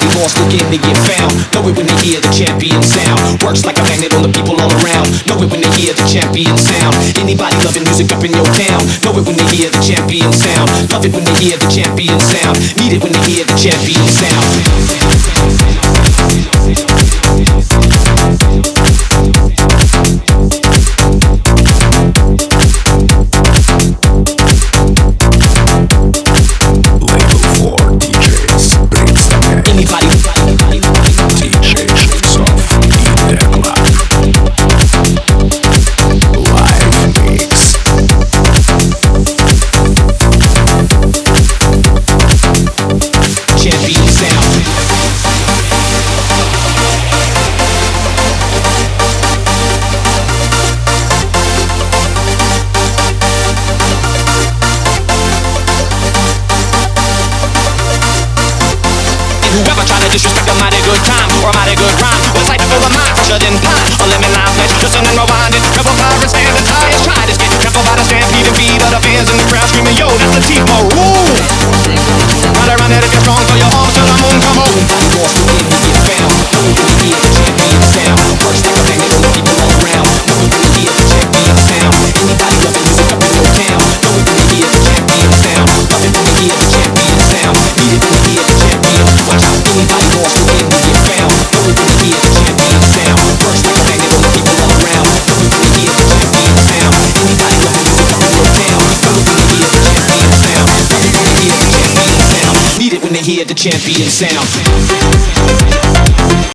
Anybody lost looking to get found. Know it when they hear the champion sound. Works like a magnet on the people all around. Know it when they hear the champion sound. Anybody loving music up in your town. Know it when they hear the champion sound. Love it when they hear the champion sound. Need it when they hear the champion sound. Whoever try to disrespect a mighty good time or a mighty good rhyme was like full of mind, fresher than pine. A lemon lime flesh, listen and rewind it. Rebel virus and the tires try to get trampled by the stampede and fever. The fans in the crowd screaming, yo, that's the Timo rule. Run it if you're strong, throw your arms to the moon, come on. Anybody lost looking to get found. Know it when they hear the champion sound. Works like a magnet on the people all around. Know it when they hear the champion sound. Anybody loving music up in your town. Know it when they hear the champion sound. Love it when they hear the champion sound. Need it when they hear the champion. Watch out, anybody lost looking to get found. Know it when they hear the champion sound. Works like a magnet on the people all around. Know it when they hear the champion sound. Anybody loving music up in your town. Know it when they hear the champion sound. Love it when they hear the champion sound. Need it when they hear the champion sound.